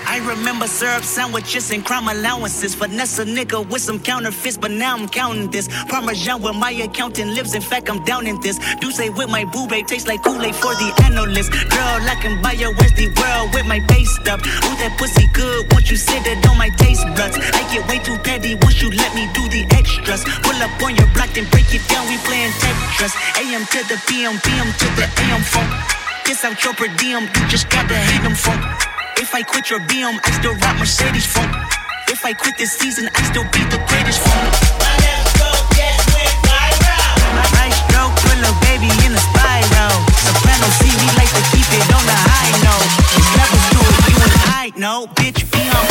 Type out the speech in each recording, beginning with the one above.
I remember syrup sandwiches and crime allowances. Finesse a nigga with some counterfeits, but now I'm counting this. Parmesan where my accountant lives, in fact I'm down in this. Do say with my boo babe, tastes like Kool-Aid for the analyst. Girl, I can buy your Westie world with my base stuff. Ooh, that pussy good, once you sit it on my taste buds. I get way too petty once you let me do the extras. Pull up on your block, then break it down, we playing Tetris. AM to the PM, PM to the AM funk. Kiss out your per diem, you just gotta hate them funk. If I quit your BM, I still rock Mercedes funk. If I quit this season, I still be the greatest funk. My next stroke just went viral. My right stroke put a baby in a spiral. Soprano see me like to keep it on the high note. It's levels to it, you and I know, bitch, be on.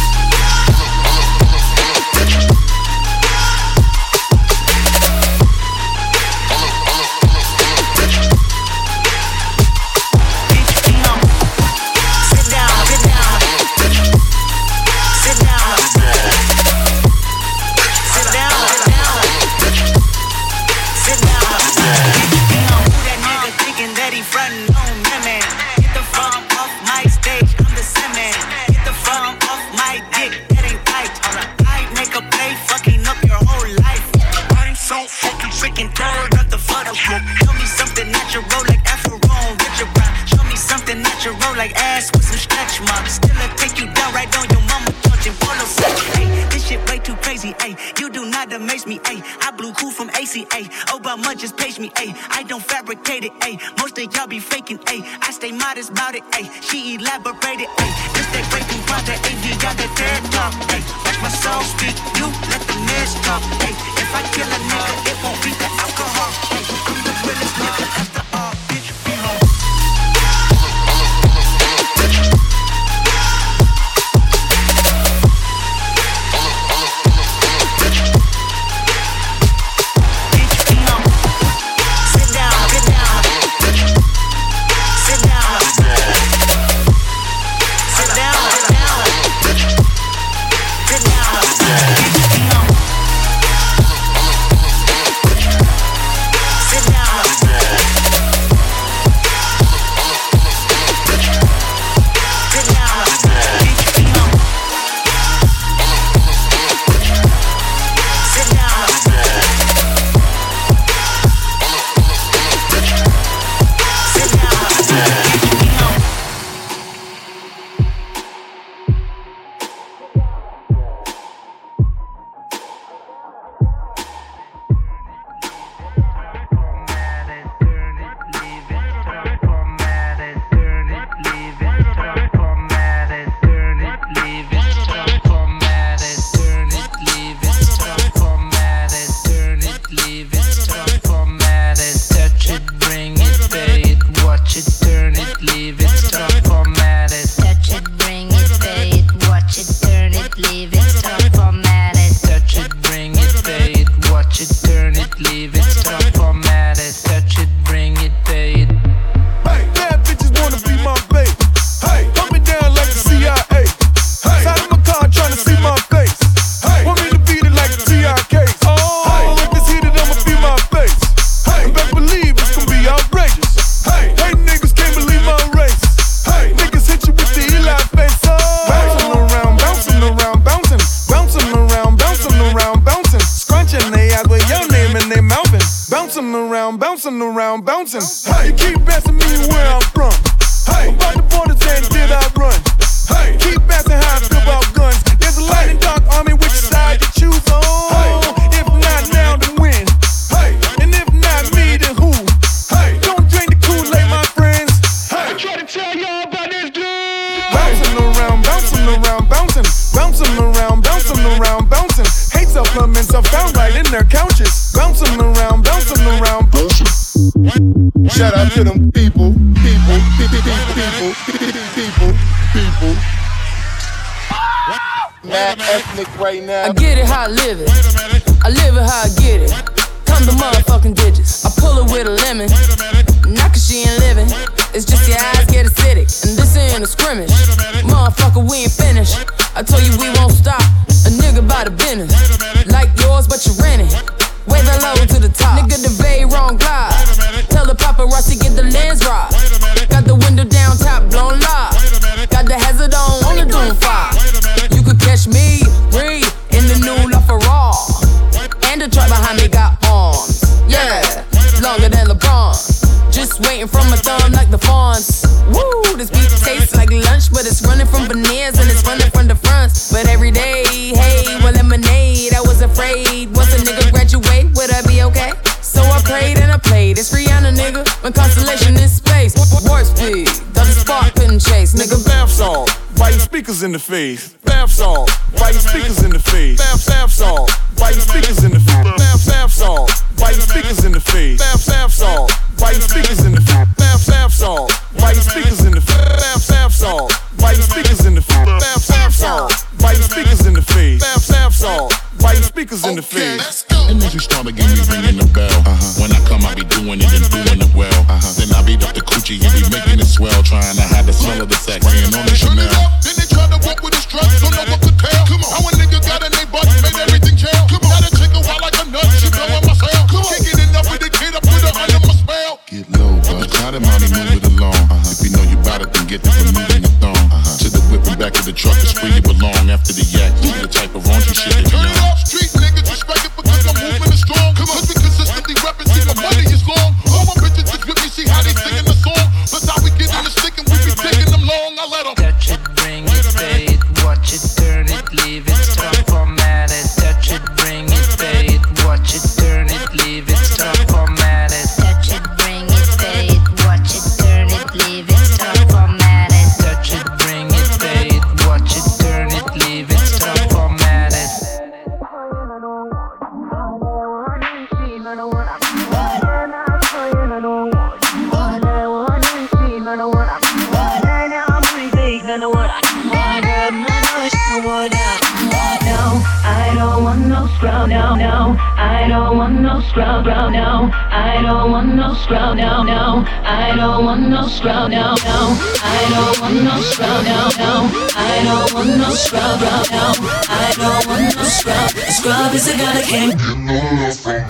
Like ass with some stretch marks. Still I take you down right on your mama touching polo sex. Hey, this shit way too crazy. Ay, you do not amaze me. Ay, I blew cool from ACA. Obama just page me. Ay, I don't fabricate it. Ay, most of y'all be faking. Ay, I stay modest about it. Ay, she elaborated. Ay, this that breaking project. AV got that TED talk. Ay, watch my soul speak. You let the mess talk. Ay, if I kill a nigga, it won't be the alcohol. Ay, I'm the realest nigga after all. Bitch, be home. Bouncing. Hey, you keep asking me where I'm from. Hey, about the borders and did I run? Hey, keep asking how I feel about guns. There's a light and dark army, which side you choose on? Hey, if not now, then when? Hey, and if not me, then who? Hey, don't drink the Kool-Aid, my friends. Hey, I try to tell y'all about this dude. Bouncing around, bouncing around, bouncing, bouncing around, bouncing around, bouncing. Hate supplements are found right in their couches. Bouncing around, bouncing around, bouncing. Shout out to them people. Mad ethnic right now. I get it how I live it. I live it how I get it. Come the motherfucking digits. I pull it with a lemon. Not cause she ain't living. It's just your eyes get acidic. And this ain't a scrimmage. Motherfucker, we ain't finished. I told you we won't stop. A nigga by the business. Like yours, but you renting. Way the low to the top. Nigga, the very wrong glide. Tell the paparazzi get the lens right. Got the window down, top blown live. Got the hazard on the doom. rush, but it's running from veneers and it's running from the fronts. But every day, hey, well, lemonade, I was afraid. Once a nigga graduate, would I be okay? So I prayed and I played. It's Rihanna, nigga, when constellation in space. Warp speed, doesn't spark, couldn't chase, nigga. Bath salt, why your speakers in the face? Bath salt, why your speakers in the face? Bath salt, why your speakers in the face? Bath salt, why your speakers in the face? Bath salt, why your speakers in the face? Bath salt, why your speakers in the face? Bath salt, why your speakers in the face? Bath salt, why your speakers in the face? Bath salt, why your speakers in the face? And as you start again, me ringing the bell. When I come, I be doing it and doing it well. Then I beat up the coochie, he be making it swell, trying to hide the smell of the sex, spraying on the Chanel. Then they try to walk with his drugs, don't know what to tell. Come on, how a nigga got in they butts, made everything jail. Come on, got a chick a wild like a nut, she blowing my cell. Come on, can't get enough with the kid, I put her under my spell. Get low, but try to mommy move it along. If you know you bout it, then get the moving your thong. To the whip and back of the truck, it's where you belong. After the yak, you the type of raunchy shit that you Turn it know. up, street niggas respect it because my movement is strong. Come on, cause we consistently reppin', see my money is long. All my bitches is with me, see how they singing the song. That's how we get in the stick and we be taking them long. I let them touch it, bring it, pay it, watch it, turn it, leave it, stop, format it. Touch it, bring it, pay it, watch it, turn it, leave it, stop, format it. Touch it, bring it, pay it, watch it, turn it, leave it, stop, format it. Touch it, bring it, pay it, watch it, turn it, leave it, stop, format it. I don't want no scrub, no, no. I don't want no scrub, no. I don't want no scrub, no, no. I don't want no scrub, no, no. I don't want no scrub, no, no. I don't want no scrub, no. I don't want no scrub. A scrub is a guy that can't get no love from.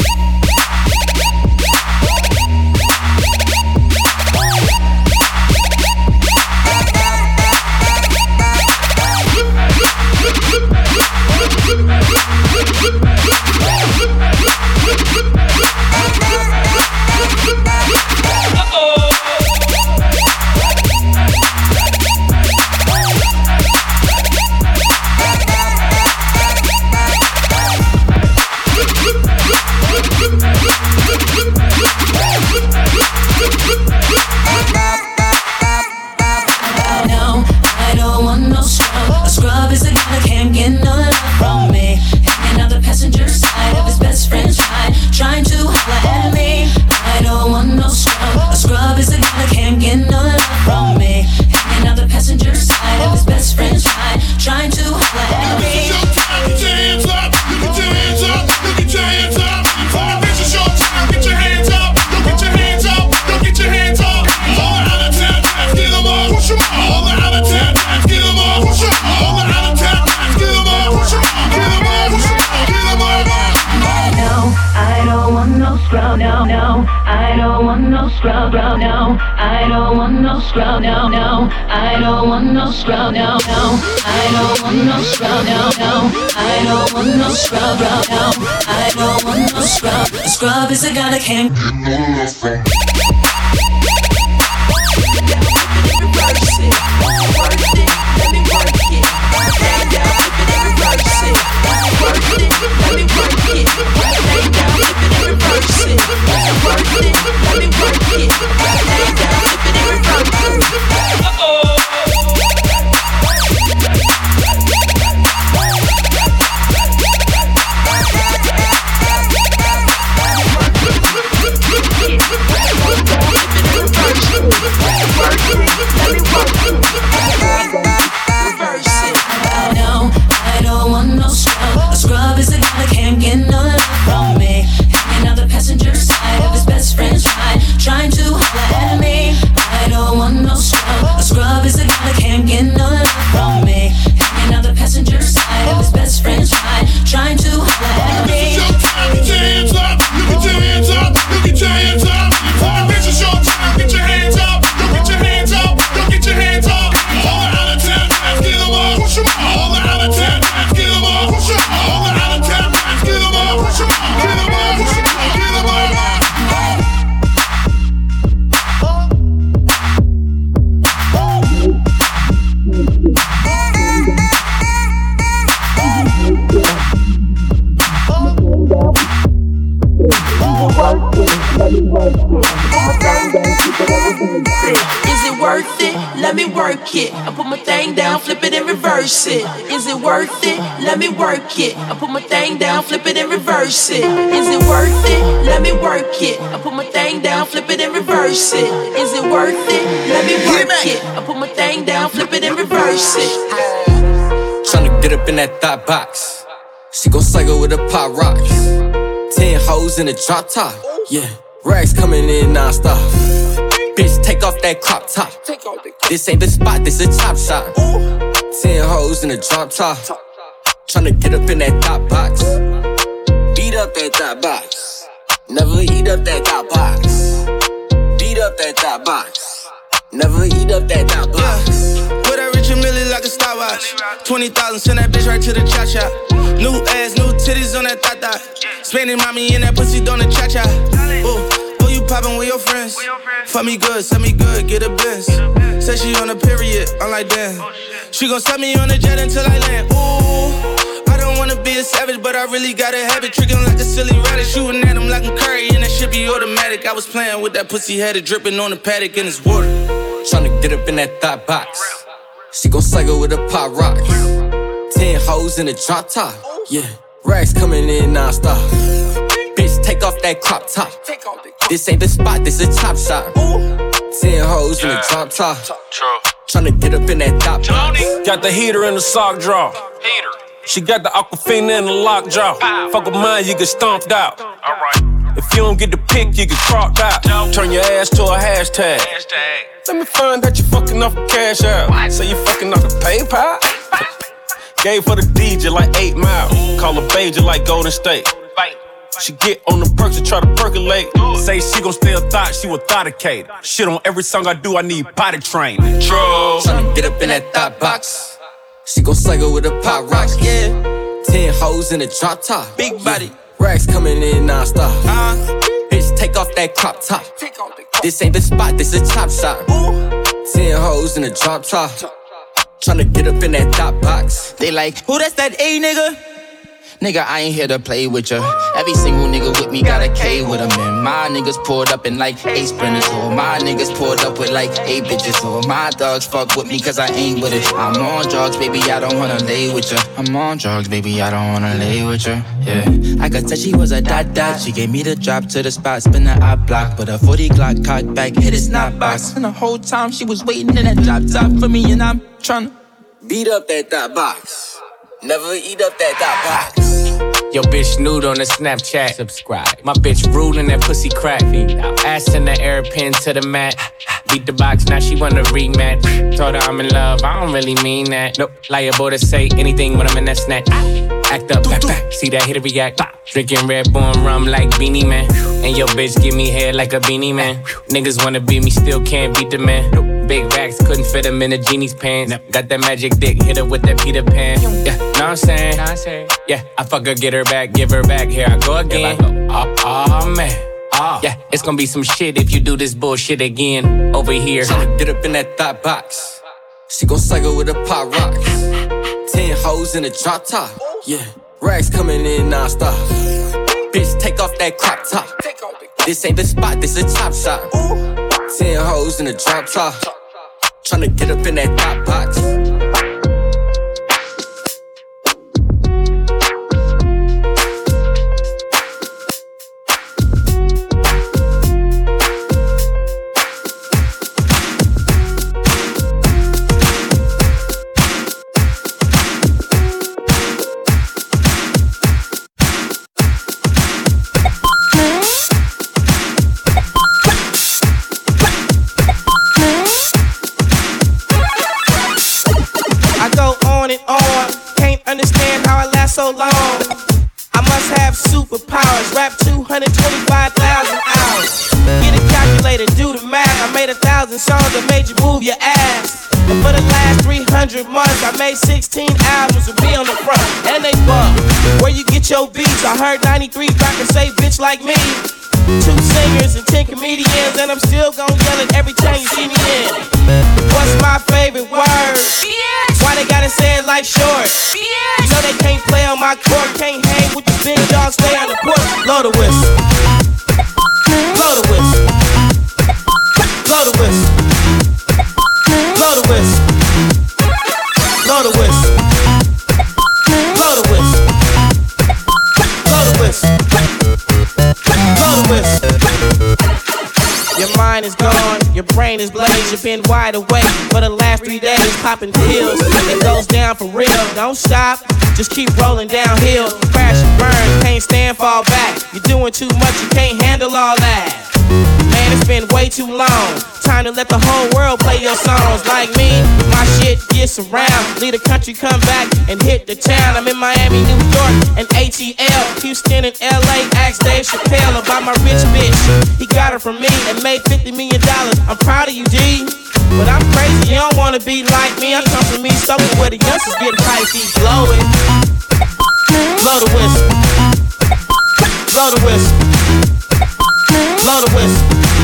Scrub, no, no. I don't want no scrub, no, no. I don't want no scrub, no, no. I don't want no scrub, no, no. I don't want no scrub, no, no. I don't want no scrub. A scrub is a guy that can't get no love from. Let me work. work it. I put my thing down, flip it and reverse it. Is it worth it? Let me work it. I put my thing down, flip it and reverse it. Is it worth it? Let me work it. I put my thing down, flip it and reverse it. Is it worth it? Let me work it. I put my thing down, flip it and reverse it. Tryna get up in that thought box. She gon' cycle with the pop rocks. 10 hoes in a drop top. Yeah, rags coming in non-stop. Bitch, take off that crop top. This ain't the spot, this a chop shop. 10 hoes in a drop top. Tryna get up in that thought box. Beat up that thought box. Never eat up that thought box. Beat up that thought box. Never eat up that thought box. Put that Richard Mille like a stopwatch. 20,000, send that bitch right to the cha-cha. New ass, new titties on that thot-thot. Spanish mommy in that pussy doing the cha-cha. Ooh, you poppin' with your friends. Fuck me good, send me good, get a Benz. Say she on a period, I'm like damn. She gon' set me on a jet until I land. Ooh, I don't wanna be a savage, but I really got a habit. Trickin' like a silly rabbit, shooting at him like I'm Curry, and that shit be automatic. I was playing with that pussy, had it dripping on the paddock in his water. Tryna get up in that thought box. She gon' cycle with the pop rocks. 10 hoes in a drop top. Yeah, rags coming in non-stop. Bitch, take off that crop top. This ain't the spot, this a chop shop. 10 hoes in a drop top. Tryna get up in that thought box. Got the heater in the sock drawer. She got the Aquafina in the lock jaw. Fuck with mine, you get stomped out. If you don't get the pick, you get cropped out. Turn your ass to a hashtag. Let me find out you fucking off the cash out. Say you fucking off the PayPal. Gave for the DJ like 8 Mile. Call her Baja like Golden State. She get on the perks and try to percolate. Say she gon' stay a thought, she will thoughtacate. Shit on every song I do, I need potty train. Tryna get up in that thought box. She gon' cycle with the pop rocks. Yeah, 10 hoes in a drop top. Big body. Rags coming in non-stop. Bitch, take off that crop top. This ain't the spot, this a chop shop. 10 hoes in a drop top. Tryna get up in that thought box. They like, who that's that A nigga? Nigga, I ain't here to play with ya. Every single nigga with me got a K with them. And my niggas pulled up in like 8 sprinters. Or my niggas pulled up with like 8 bitches. Or my dogs fuck with me cause I ain't with it. I'm on drugs, baby, I don't wanna lay with ya. I'm on drugs, baby, I don't wanna lay with ya. Yeah, I could tell she was a dot. She gave me the drop to the spot, spin the eye block. But a 40 Glock cocked back, hit his snot box. And the whole time she was waiting in that drop top for me. And I'm tryna beat up that thought box. Never eat up that thought box. Yo, bitch nude on the Snapchat. Subscribe. My bitch ruling that pussy crack. Ass in the air, pin to the mat. Beat the box, now she wanna rematch. Told her I'm in love, I don't really mean that. Nope, liable to say anything when I'm in that snack. Act up, back. See that hit react. Drinking Red Bull and rum like Beanie Man. And yo, bitch give me head like a beanie man. Niggas wanna beat me, still can't beat the man. Big racks, couldn't fit him in a genie's pants. Got that magic dick, hit her with that Peter Pan. Yeah, know what I'm saying? Yeah, I fuck her, get her back, give her back. Here I go again. Oh, man. Yeah, it's gonna be some shit if you do this bullshit again. Over here. Tryna get up in that thought box. She gon' cycle with the pop rocks. 10 hoes in a drop top. Yeah, rags coming in non-stop. Bitch, take off that crop top. This ain't the spot, this a chop shop. 10 hoes in a drop top. Tryna get up in that thought box. So long, I must have superpowers. Rap 225,000 hours. Get a calculator, do the math. I made 1,000 songs that made you move your ass. And for the last 300 months, I made 16 albums with me on the front, and they bump. Where you get your beats? I heard 93 rappers say bitch like me. 2 singers and 10 comedians, and I'm still gon' yell it every time you see me in. What's my favorite word? Why they gotta say it like short? You know they can't play on my court, can't hang with the big dogs, stay on the court. Blow the whistle. Blow the whistle. Blow the whistle. Blow the whistle. Blow the whistle. Blow the whistle. Blow the whistle. Blow the whistle. Your mind is gone, your brain is blazed. You've been wide awake for the last 3 days, popping pills. It goes down for real. Don't stop, just keep rolling downhill. Crash and burn, can't stand, fall back. You're doing too much, you can't handle all that. Man, it's been way too long. Time to let the whole world play your songs. Like me, my shit gets around. Leave the country, come back and hit the town. I'm in Miami, New York, and ATL, Houston and LA. Ask Dave Chappelle about my rich bitch. He got her from me and made $50 million. I'm proud of you, D. But I'm crazy, you don't wanna be like me. I come from East Oakland where the youngsters get hypey. Blow it. Blow the whistle. Blow the whistle. Blow the whistle.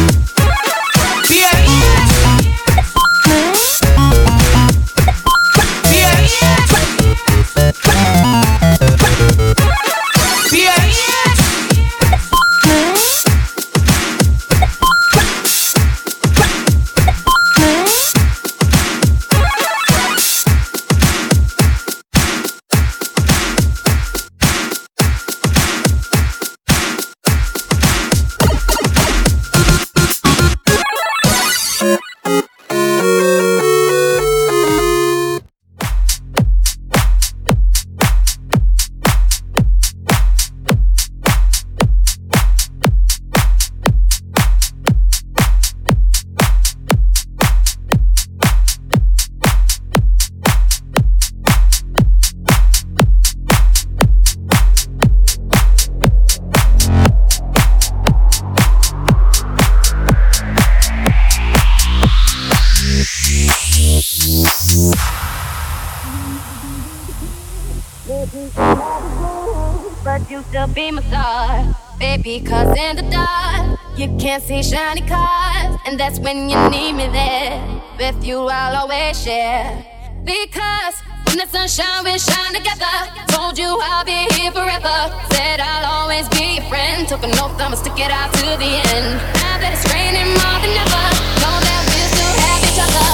But you still be my star, baby, cause in the dark you can't see shiny cars, and that's when you need me there. With you I'll always share, because when the sun shine we shine together. Told you I'll be here forever, said I'll always be your friend. Took an oath I'ma stick it out to the end. Now that it's raining more than ever, know that we'll still have each other.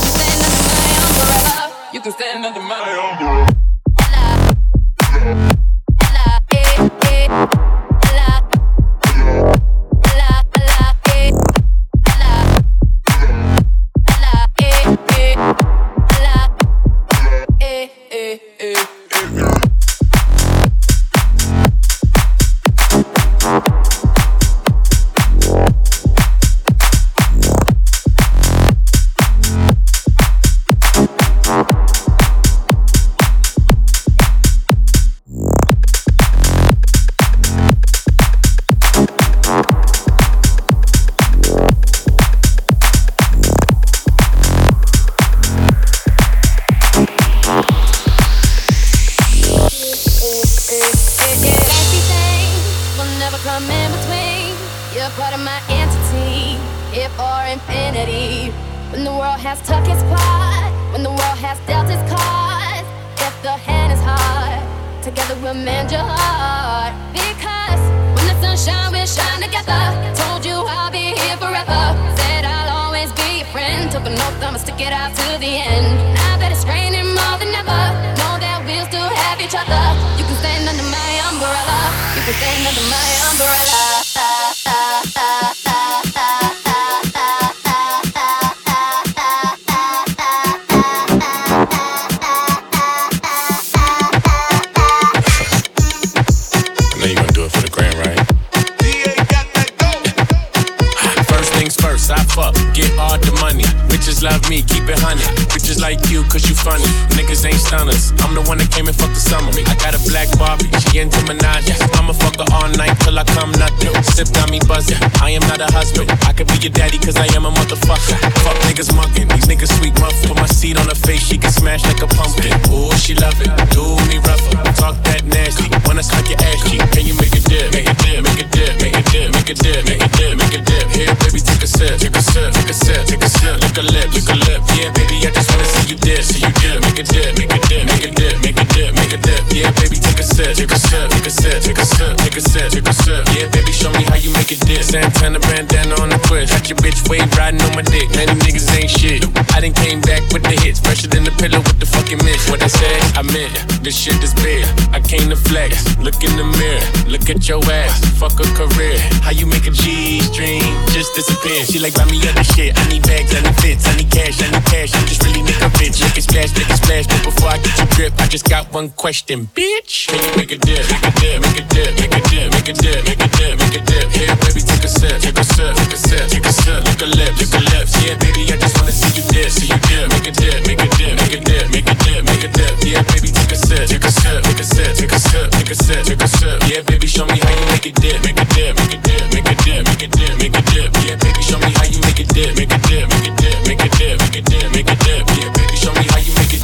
You can stand under my umbrella. Take a sip. Yeah, baby, show me how you make make it dip. Santana bandana on the twist. Got your bitch wave riding on my dick. Man, these niggas ain't shit. I done came back with the hits. Fresher than the pillow with the fucking mist. What I said, I meant. This shit is big. I came to flex. Look in the mirror. Look at your ass. Fuck a career. How you make a G-string just disappear? She like, buy me other shit. I need bags, I need fits, I need cash, I need cash. I'm just really nigga bitch. Make it splash, make it splash. But before I get your grip, I just got one question, bitch. Can you make a dip? Make a dip, make a dip, make a dip, make a dip, make a dip, make a dip. Here, baby, take a sip, take a sip, take a sip, take a sip. Lick a lip, lick a lips. Yeah, baby, I just wanna see you dip, see you dip. Make a dip, make a dip, make a dip, make a dip, make a dip. Yeah, baby, take a sip, take a sip, take a sip, take a sip, take a sip, take a sip. Yeah, baby, show me how you make it dip, make a dip, make a dip, make a dip, make a dip, make a dip. Yeah, baby, show me how you make it dip, make a dip, make a dip, make a dip, make a dip, make a dip. Yeah, baby, show me how you make it.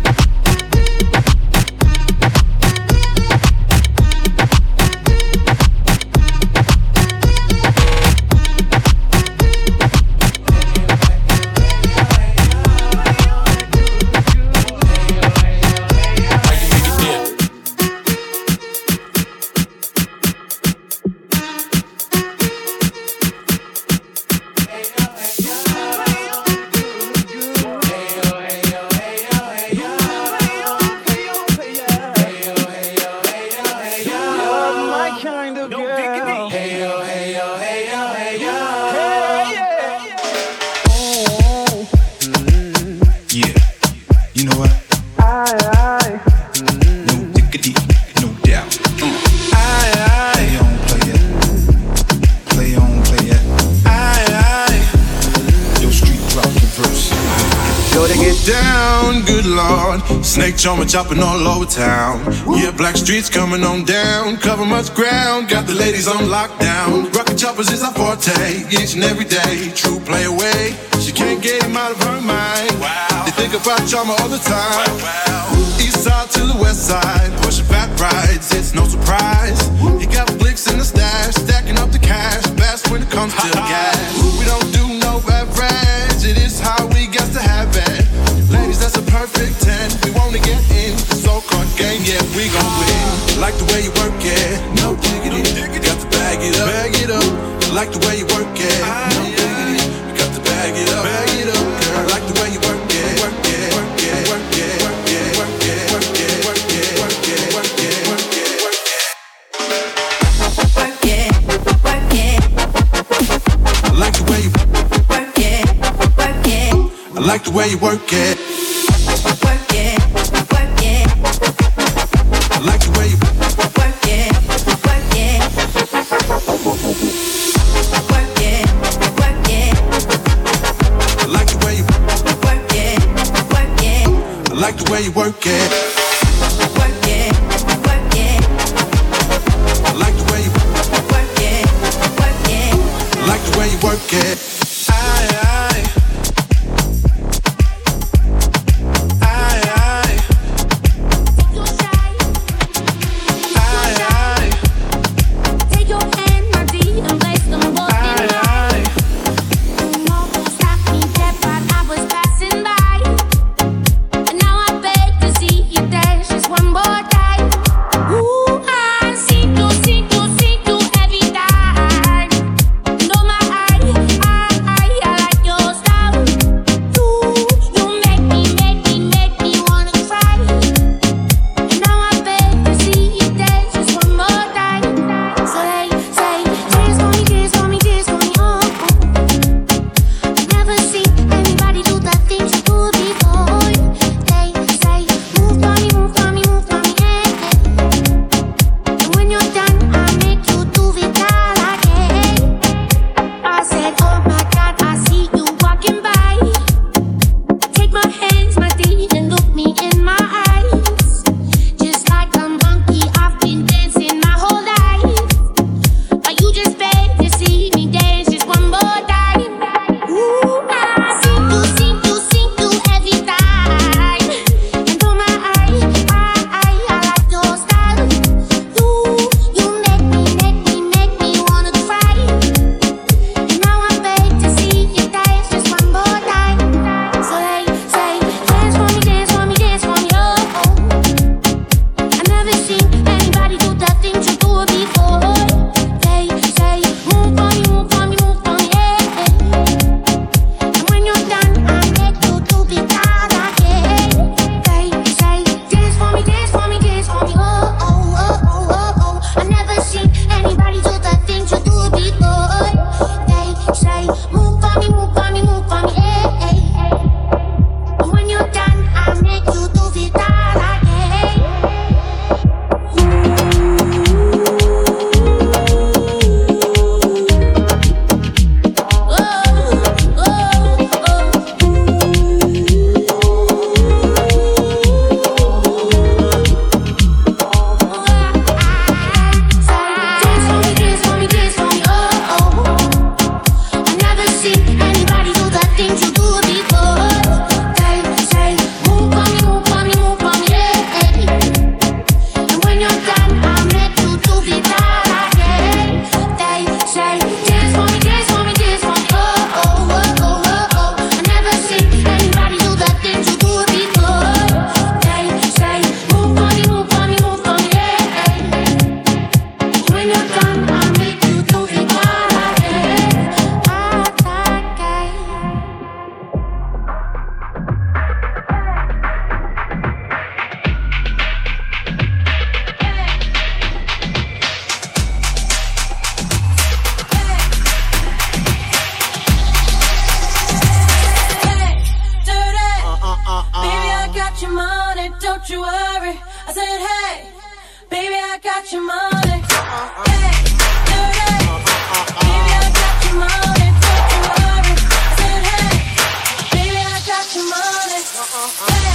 Snake charmer chopping all over town. Yeah, black streets coming on down. Cover much ground, got the ladies on lockdown. Rocket choppers is our forte, each and every day. True play away, she can't get him out of her mind. Wow. They think about charmer all the time. Wow. East side to the west side, pushing fat rides, it's no surprise. He got flicks in the stash, stacking up the cash. Fast when it comes to gas. We don't do no average, it is how we got to have it. Ladies, that's a perfect 10. We wanna get in, so-called game, yeah, we gon' win. Like the way you work it, no diggity. Got to bag it up, bag it up. Like the way you work it, no diggity. Got to bag it up, girl. Like the way you work it, work it, work it, work it, work it, work it, work it, work it, work it, work it, work it, work it. Work it, work it. I like the way you work it, work it. I like the way you work it. Way you work it, work it, work it. I like the way you work it, work it. I like the way you work it. I got your money, don't you worry. I said, hey, baby, I got your money. Hey, hey, baby, I got your money, don't you worry. I said, hey, baby, I got your money. Hey,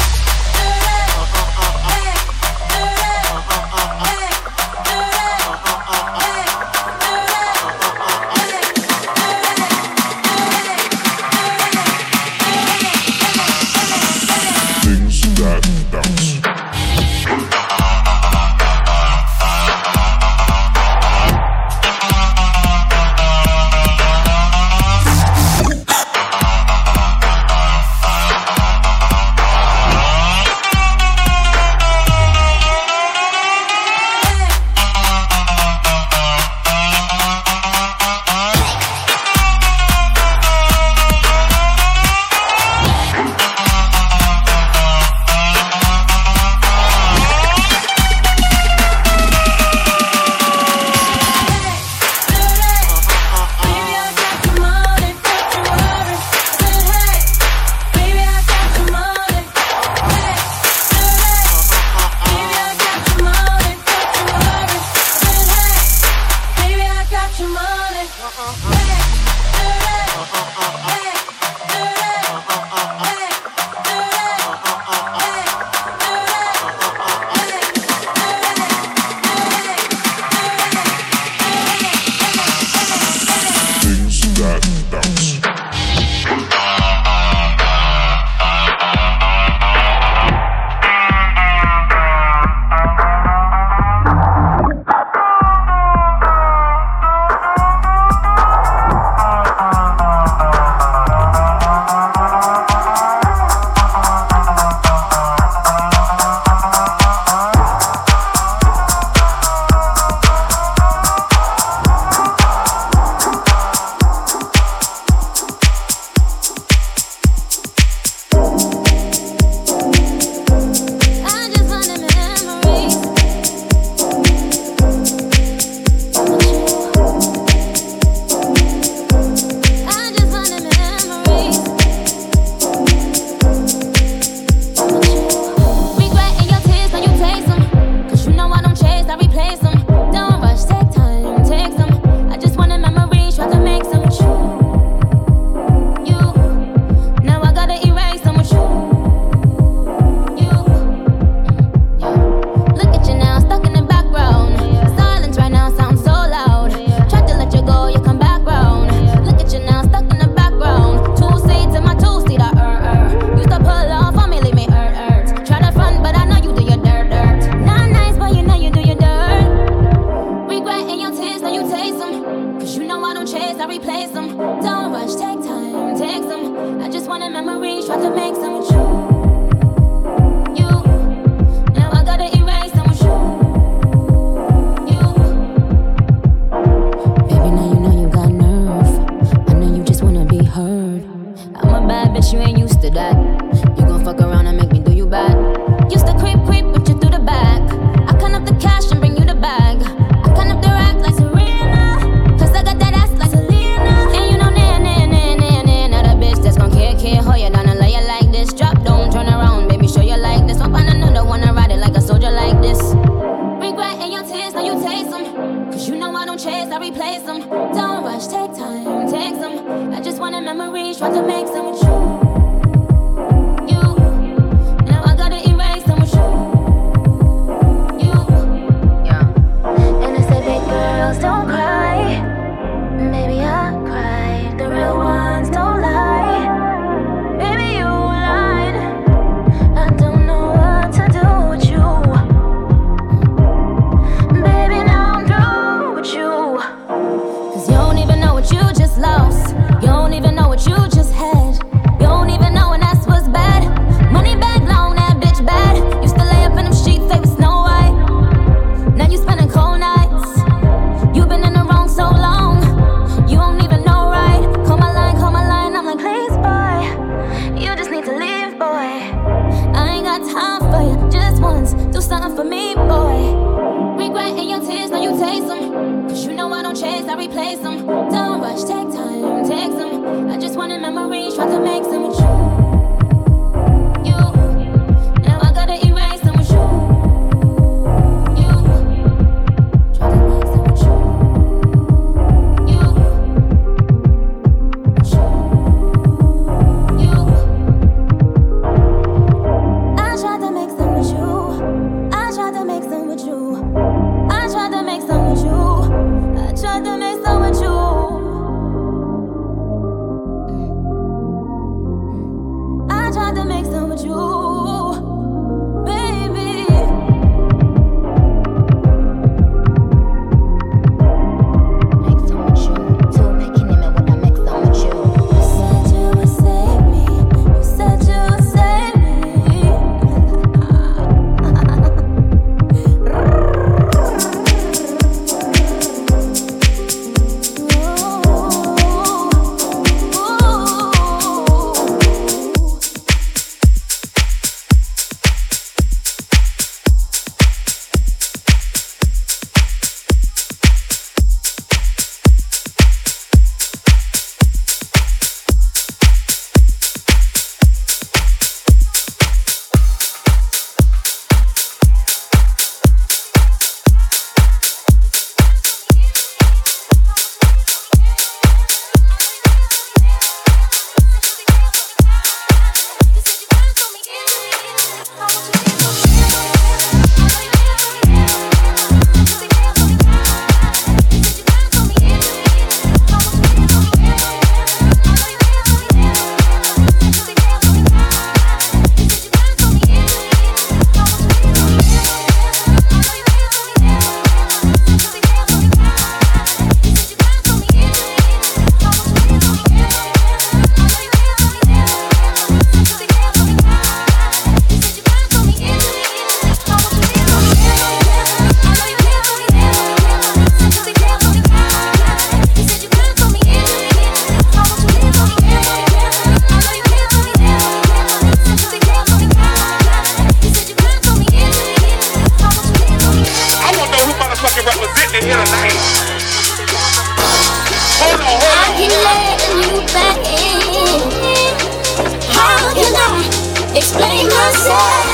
wanted memories, try to make some with you. You, now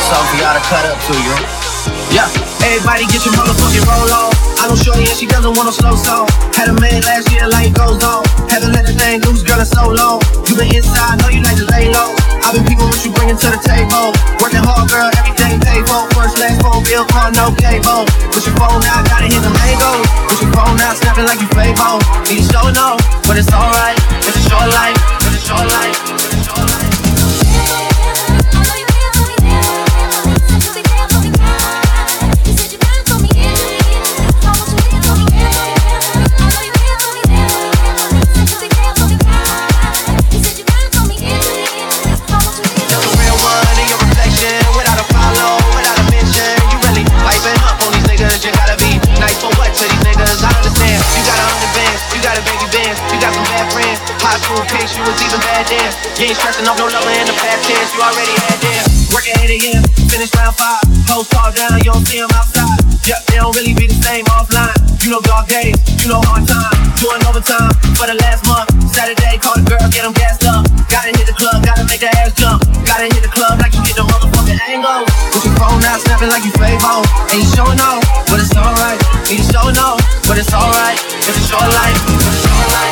something for y'all to cut up to you. Yeah. Everybody get your motherfucking roll on. I don't show you and she doesn't want no slow song. Had a man last year, life goes on. Haven't let the thing loose, girl, it's so long. You been inside, know you like to lay low. I've been people what you bringing to the table. Working hard, girl, everything paid for. First, last phone bill, car, no cable. Put your phone out, gotta hit the mango. Put your phone out, snapping like you Fable. Need to show no, but it's alright. It's a short life, it's a short life, it's a short life. You was even bad then. You ain't stressing off no lover in the past tense. You already had them. Work at 8 a.m. Finish round 5. Post fall down, you don't see them outside. Yep, they don't really be the same offline. You know dog days, you know hard time. Doing overtime for the last month. Saturday, call the girl, get them gassed up. Gotta hit the club, gotta make the ass jump. Gotta hit the club like you get the motherfucking angle. Put your phone out, snapping like you Fable. Ain't showing off, but it's alright. Ain't showing off, but it's alright. It's a short life, it's a short life.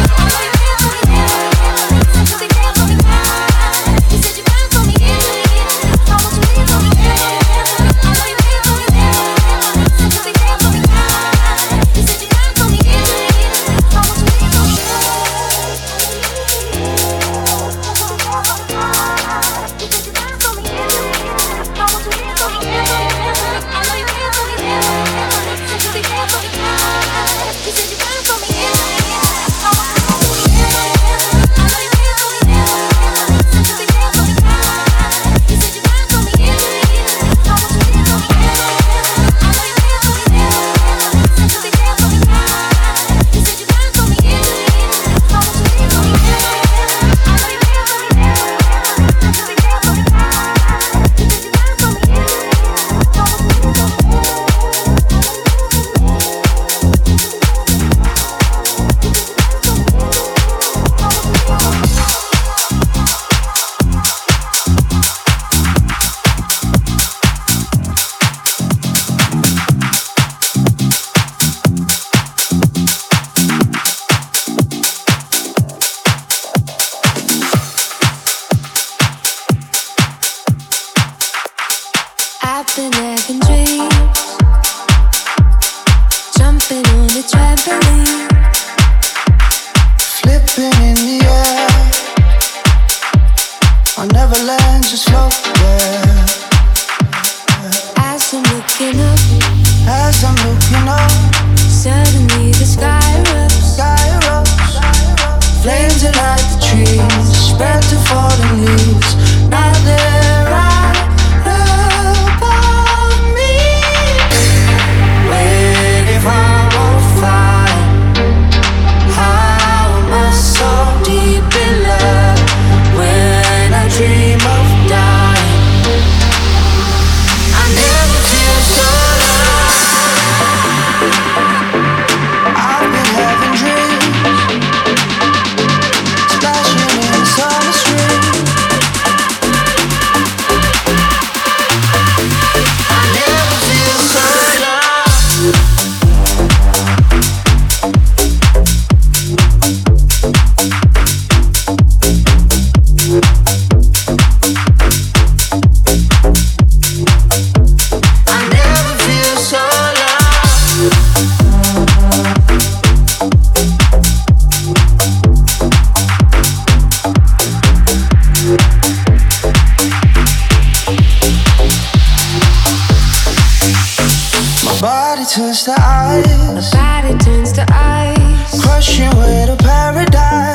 turns to ice. My body turns to ice. Crushing with a paradise.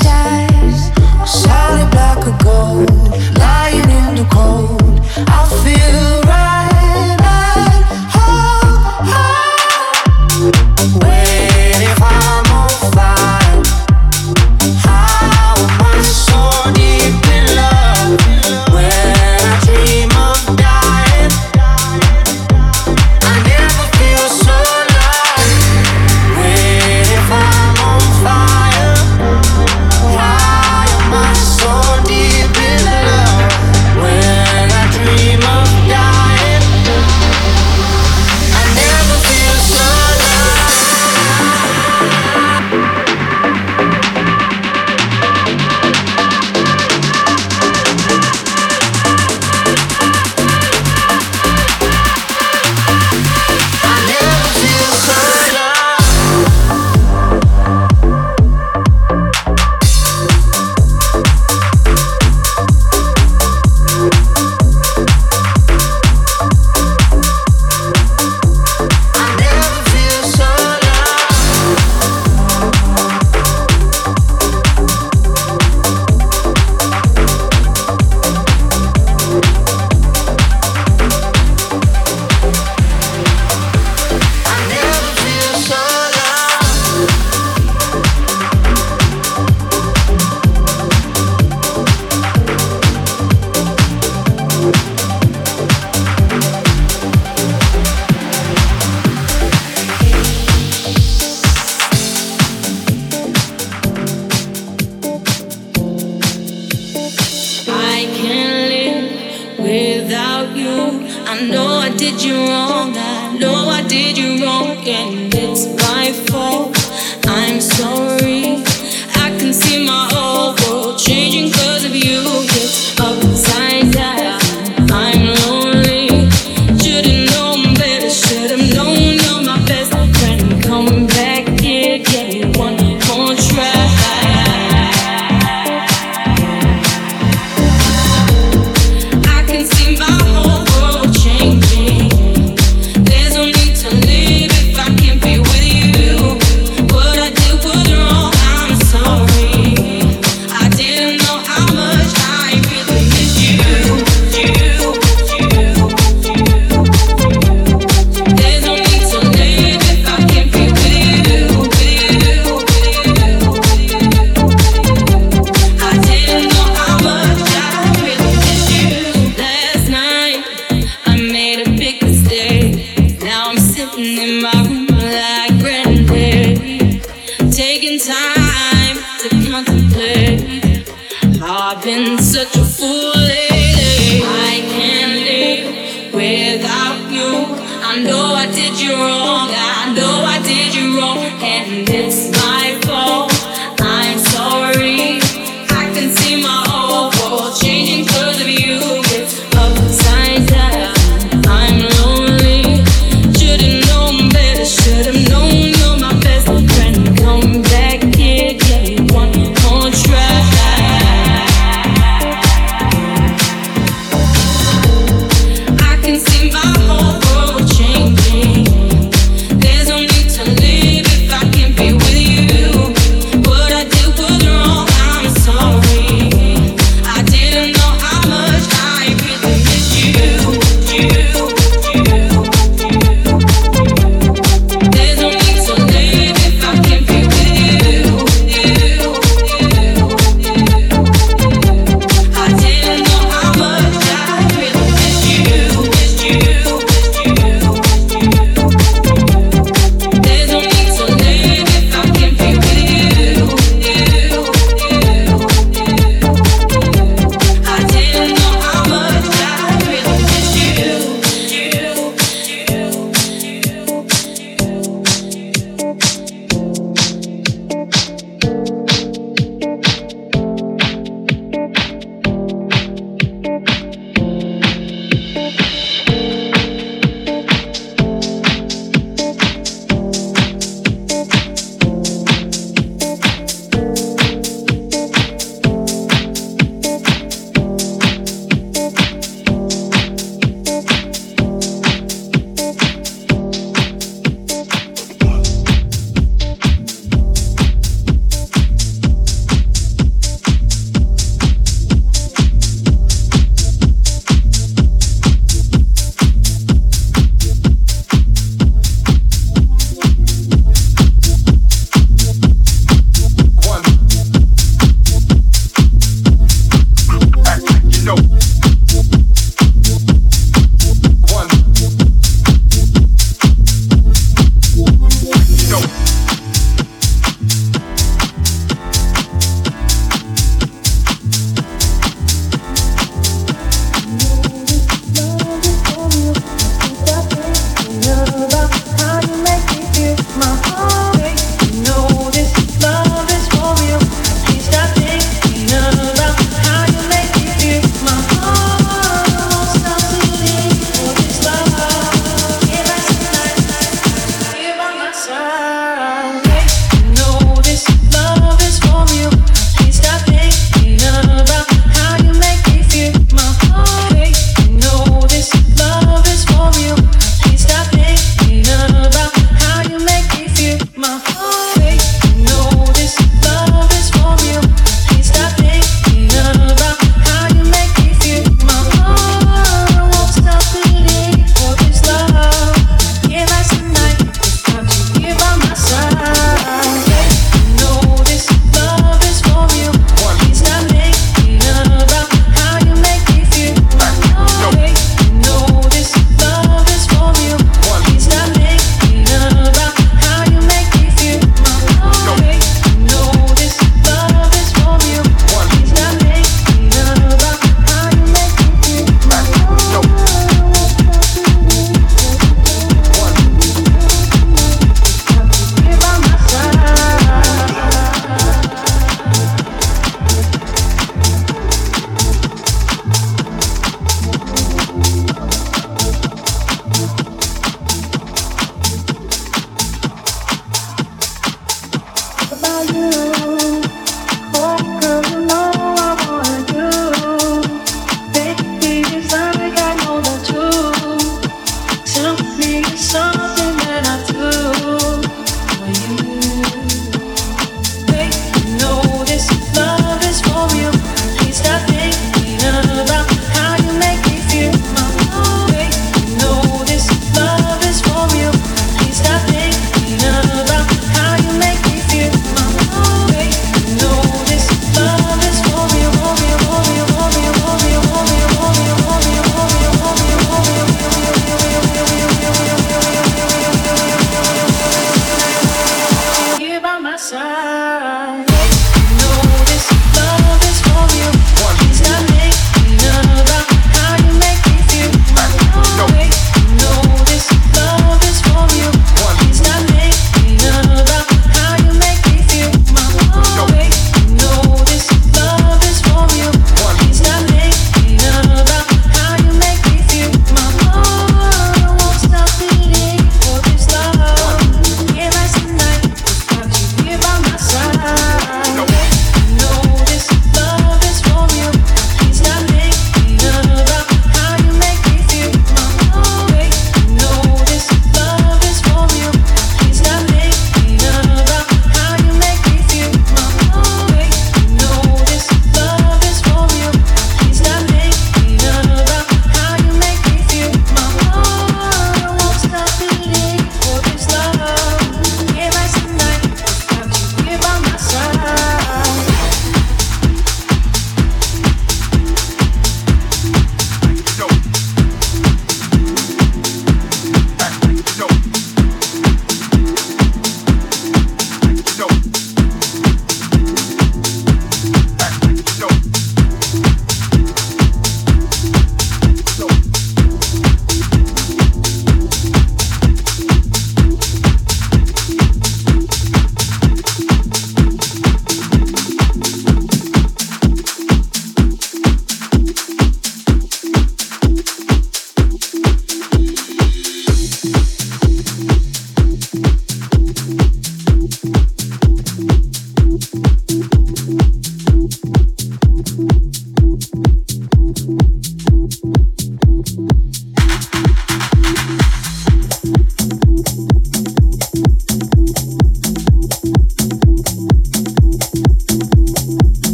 Solid black of gold, lying in the cold. I feel right at home. Wait, if I'm on fire, how am I so deep in love? When I dream of dying, I never feel so alive. Wait, if I'm on fire. I know I did you wrong. I know I did you wrong, and it's my fault. I'm sorry. I can see my whole world changing 'cause of you. It's upside down. I'm lonely. Should've known better. Should've known you're my best friend. Come back here, give me one more try. I can see my whole world changing. There's no need to live if I can't be with you. What I did was wrong. I'm sorry. I didn't know how much I really miss you. There's no need to live if I can't be with you. I didn't know how much I really miss you. Last night I made a big mistake. Now I'm sitting in my room like granddad, taking time to contemplate how I've been such a fool lately. I can't live without you. I know I did you wrong. I know I did you wrong, and it's my fault. I'm sorry. I can see my whole world changing 'cause of you. It's upside down. I'm lonely. Should've known better. Should've known you're my best friend. Come back here, give me one more try. I can see my whole world changing. There's no need to live if I can't be with you.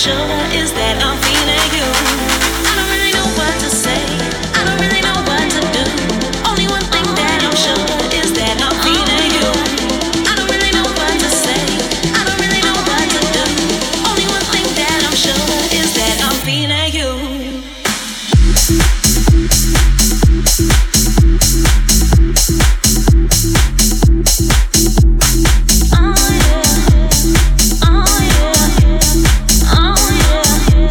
sure is that I'm feeling you. I don't really know what to say. I don't really know what to do. Only one thing that I'm sure is that I'm feeling you. I don't really know what to say. I don't really know what to do. Only one thing that I'm sure is that I'm feeling you. Oh yeah, oh yeah, oh yeah.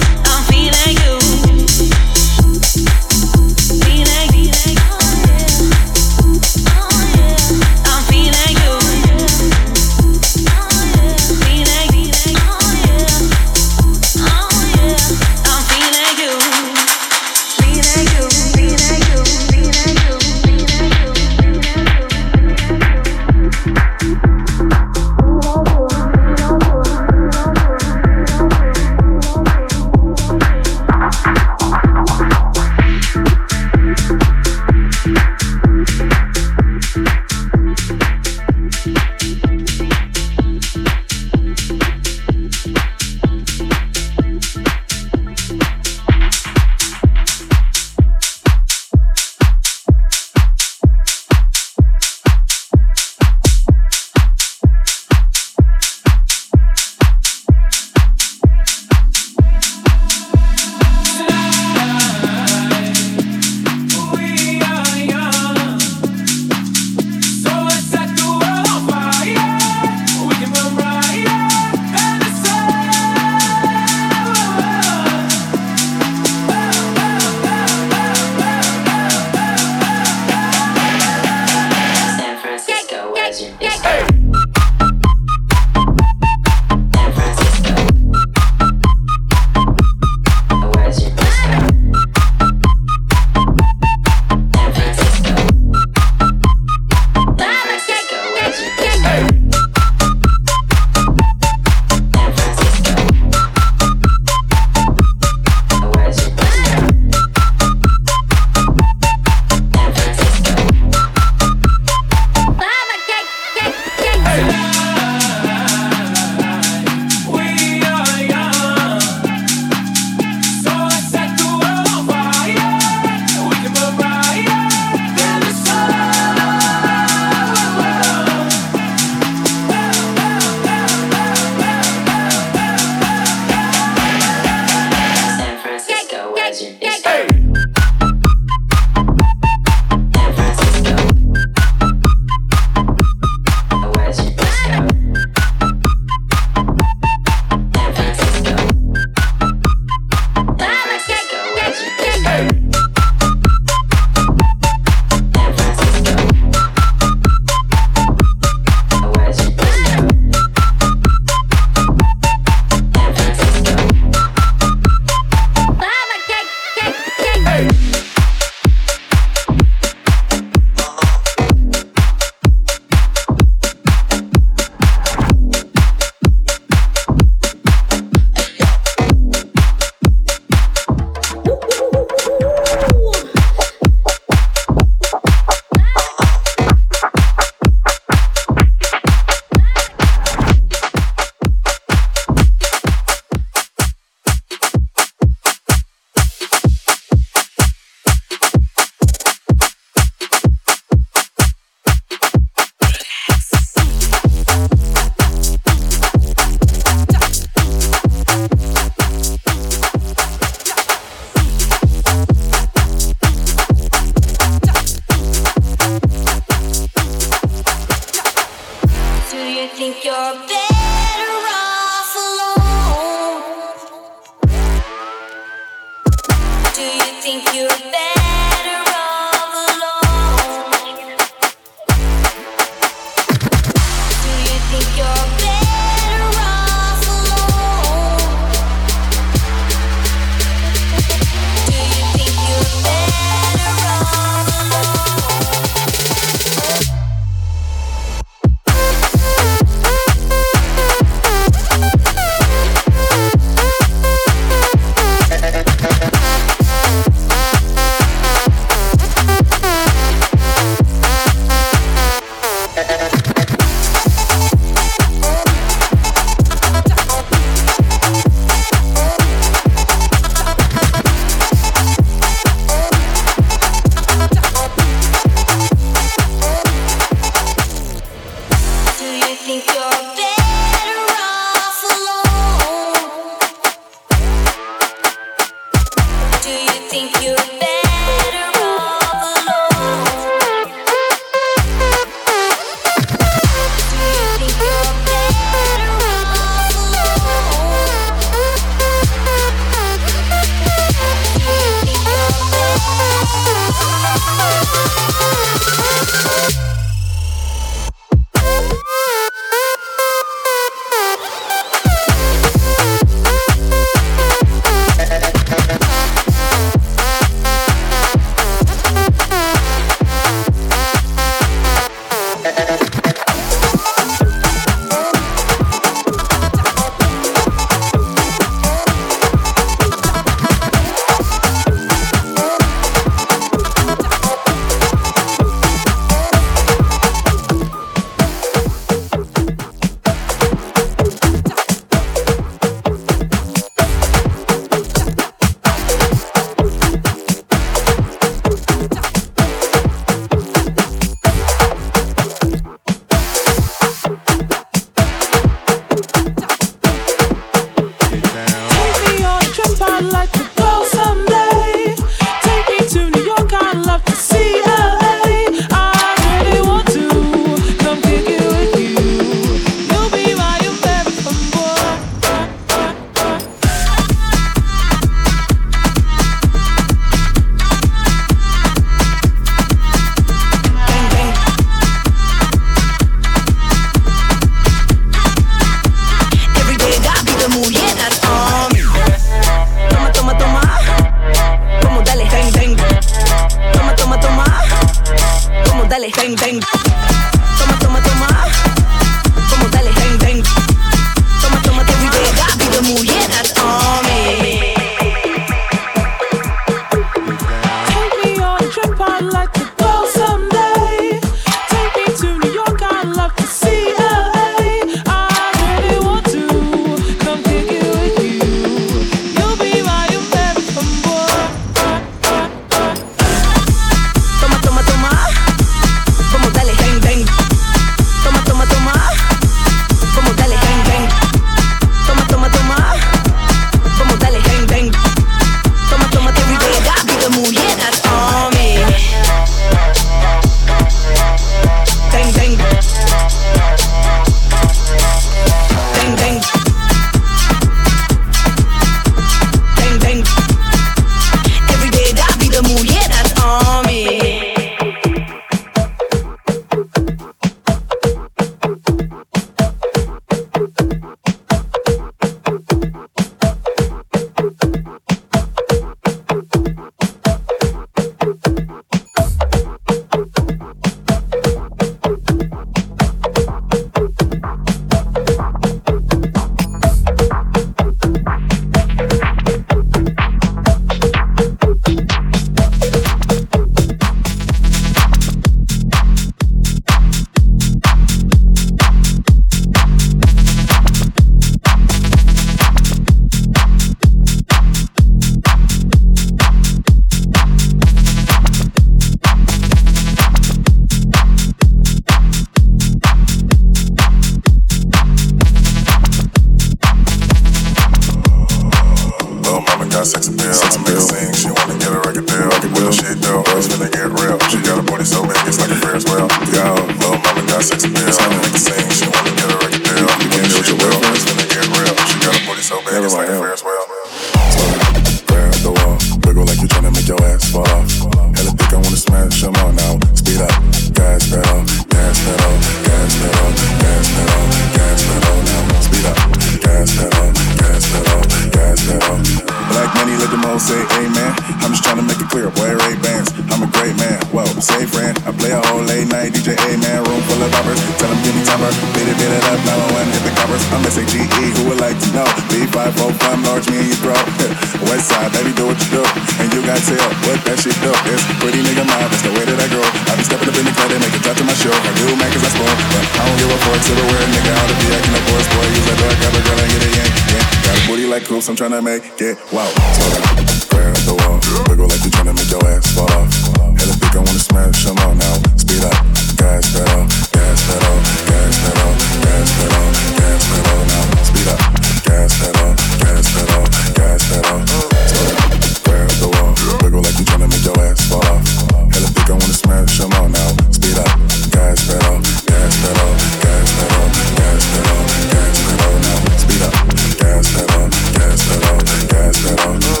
don't say amen. I'm just trying to make it clear, boy, Ray-Bans. I'm a great man, whoa, say friend. I play a whole late night DJ A-man, room full of boppers. Tell them give me topper, beat it up, 901, hit the coppers. I'm S-A-G-E, who would like to know? B545, large me in your throat. West side, baby, do what you do. And you got tell what that shit do. It's pretty nigga mind, that's the way that I grow. I be stepping up in the club, they make it top to my show. I do man, cause I spoil, but I don't give a fuck. Silverware, nigga, I ought to be acting a boy, boy. Use that door, grab a girl and get it yank, yeah. Got a booty like coops, I'm tryna make it wow. So grab the wall, wiggle like you tryna make your ass fall off. Hella big, I wanna smash them all now. Speed up, gas pedal, gas pedal, gas pedal, gas pedal, gas pedal now. Speed up, gas pedal, gas pedal, gas pedal. So grab the wall, wiggle like you tryna make your ass fall off. Hella big, I wanna smash them all now. Speed up, gas pedal, gas pedal, gas pedal, gas pedal, gas pedal now. Speed up, gas pedal, gas pedal, gas pedal.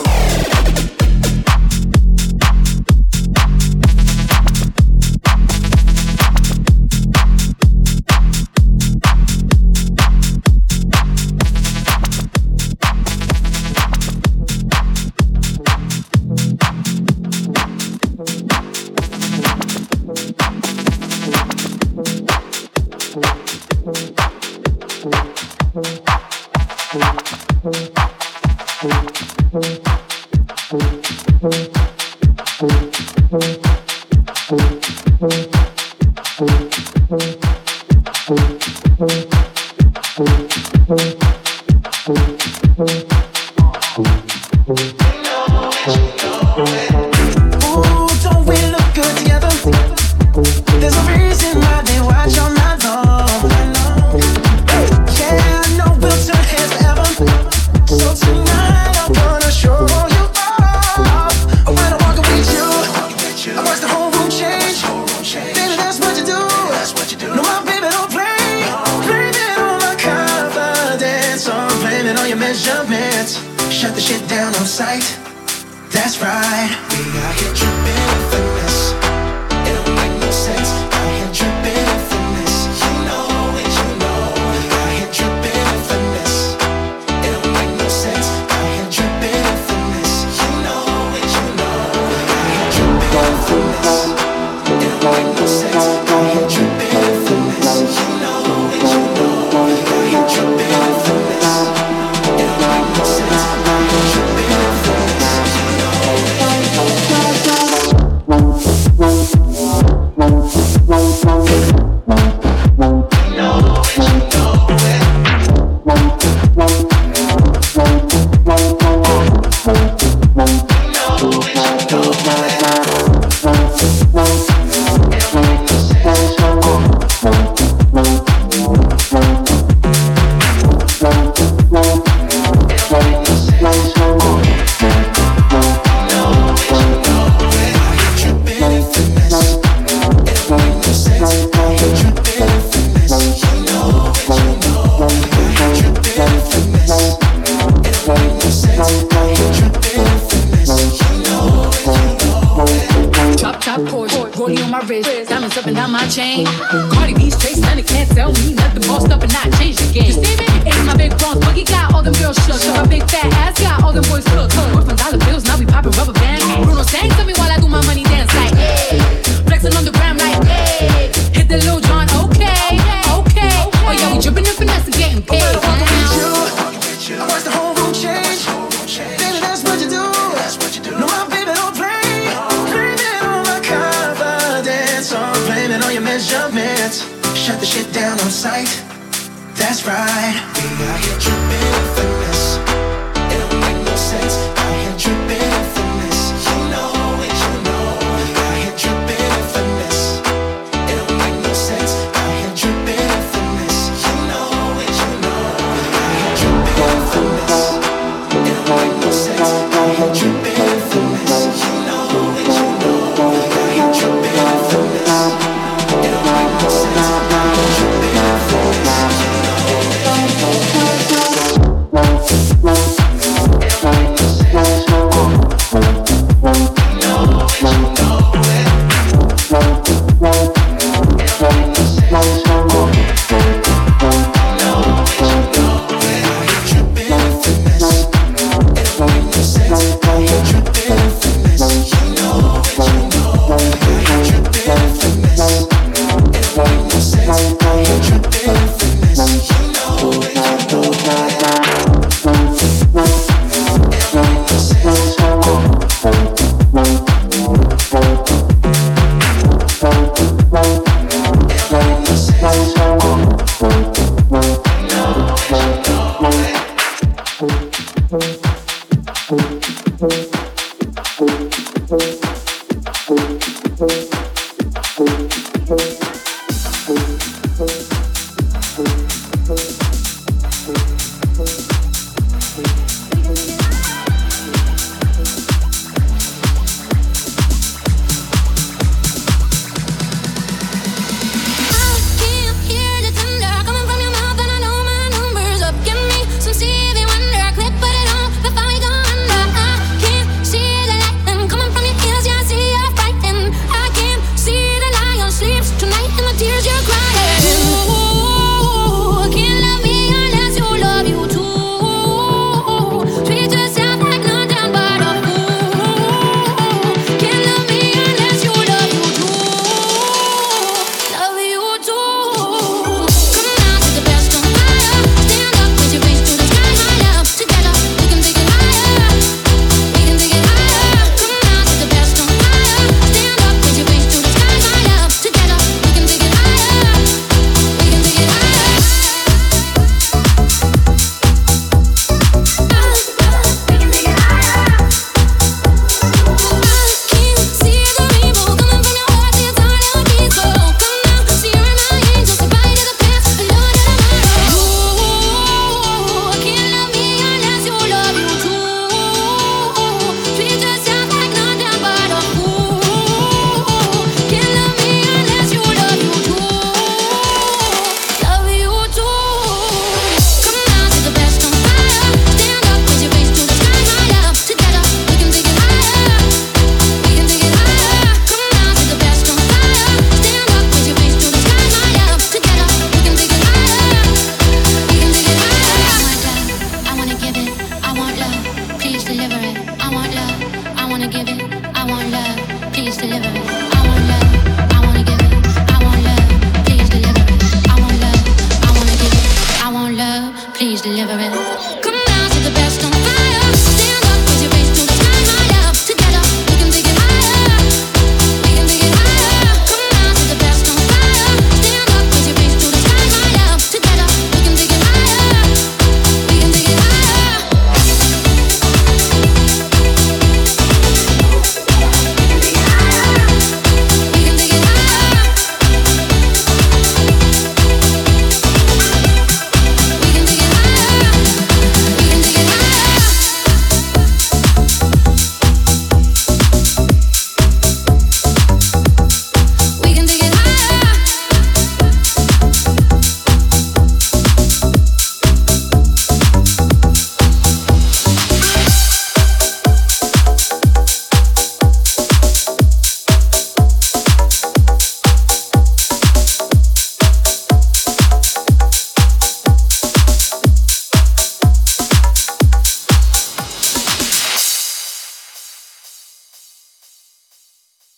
Come